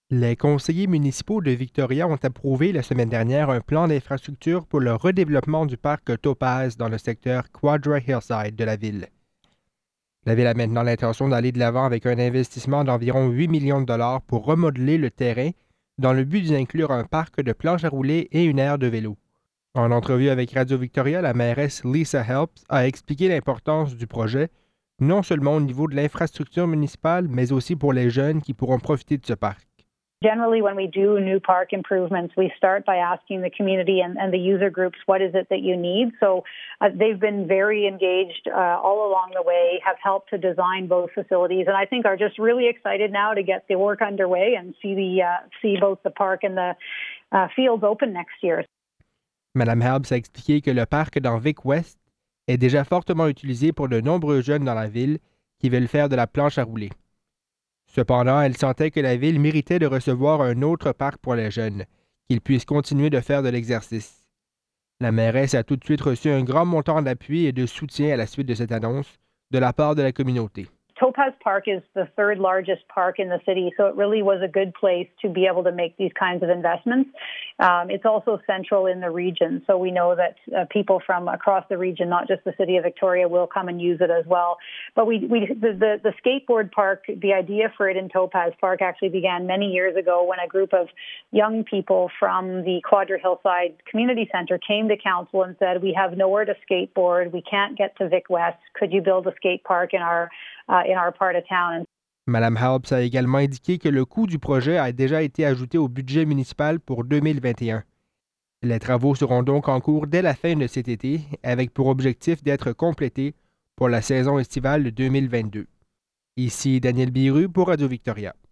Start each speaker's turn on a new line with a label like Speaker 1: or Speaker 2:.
Speaker 1: Les conseillers municipaux de Victoria ont approuvé la semaine dernière un plan d'infrastructure pour le redéveloppement du parc Topaz dans le secteur Quadra Hillside de la ville. La ville a maintenant l'intention d'aller de l'avant avec un investissement d'environ 8 millions de dollars pour remodeler le terrain dans le but d'y inclure un parc de planches à rouler et une aire de vélo. En entrevue avec Radio-Victoria, la mairesse Lisa Helps a expliqué l'importance du projet, non seulement au niveau de l'infrastructure municipale, mais aussi pour les jeunes qui pourront profiter de ce parc.
Speaker 2: Generally, when we do new park improvements, we start by asking the community and the user groups, what is it that you need? So they've been very engaged all along the way, have helped to design both facilities, and I think are just really excited now to get the work underway and see both the park and the fields open next year.
Speaker 1: Mme Helps a expliqué que le parc dans Vic West est déjà fortement utilisé pour de nombreux jeunes dans la ville qui veulent faire de la planche à rouler. Cependant, elle sentait que la ville méritait de recevoir un autre parc pour les jeunes, qu'ils puissent continuer de faire de l'exercice. La mairesse a tout de suite reçu un grand montant d'appui et de soutien à la suite de cette annonce de la part de la communauté.
Speaker 2: Topaz Park is the third largest park in the city, so it really was a good place to be able to make these kinds of investments. It's also central in the region, so we know that people from across the region, not just the city of Victoria, will come and use it as well. But the skateboard park, the idea for it in Topaz Park actually began many years ago when a group of young people from the Quadra Hillside Community Centre came to council and said, "We have nowhere to skateboard. We can't get to Vic West. Could you build a skate park in our part of town?"
Speaker 1: Mme Helps a également indiqué que le coût du projet a déjà été ajouté au budget municipal pour 2021. Les travaux seront donc en cours dès la fin de cet été, avec pour objectif d'être complétés pour la saison estivale de 2022. Ici Daniel Biru pour Radio-Victoria.